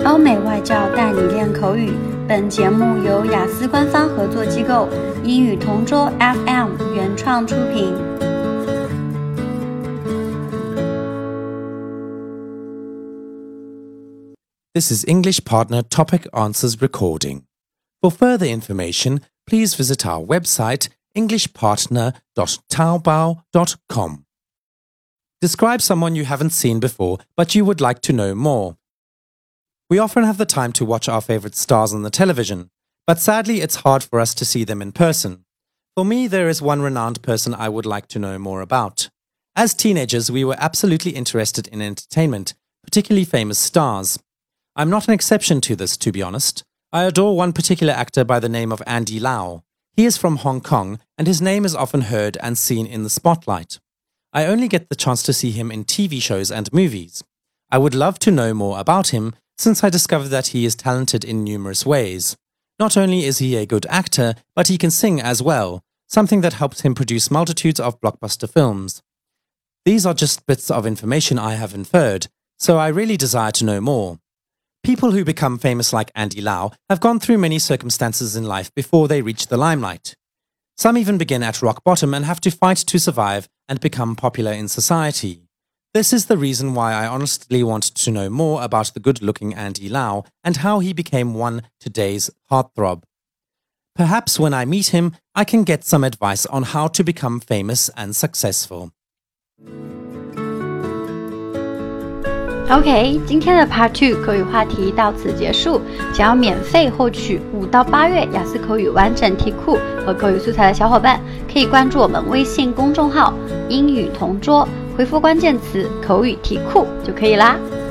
欧美外教带你练口语。本节目由雅思官方合作机构英语同桌 FM 原创出品。 This is English Partner Topic Answers recording. For further information, please visit our website englishpartner.taobao.com. Describe someone you haven't seen before but you would like to know more. We often have the time to watch our favorite stars on the television, but sadly it's hard for us to see them in person. For me, there is one renowned person I would like to know more about. As teenagers, we were absolutely interested in entertainment, particularly famous stars. I'm not an exception to this, to be honest. I adore one particular actor by the name of Andy Lau. He is from Hong Kong, and his name is often heard and seen in the spotlight. I only get the chance to see him in TV shows and movies. I would love to know more about him, since I discovered that he is talented in numerous ways. Not only is he a good actor, but he can sing as well, something that helps him produce multitudes of blockbuster films. These are just bits of information I have inferred, so I really desire to know more. People who become famous like Andy Lau have gone through many circumstances in life before they reach the limelight. Some even begin at rock bottom and have to fight to survive and become popular in society. This is the reason why I honestly want to know more about the good-looking Andy Lau and how he became one today's heartthrob. Perhaps when I meet him, I can get some advice on how to become famous and successful. OK， 今天的 Part 2口语话题到此结束。想要免费获取5到8月雅思口语完整题库和口语素材的小伙伴，可以关注我们微信公众号英语同桌，回复关键词口语题库就可以啦。